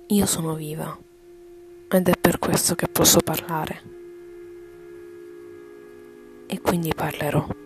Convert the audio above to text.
Io sono viva ed è per questo che posso parlare. E quindi parlerò.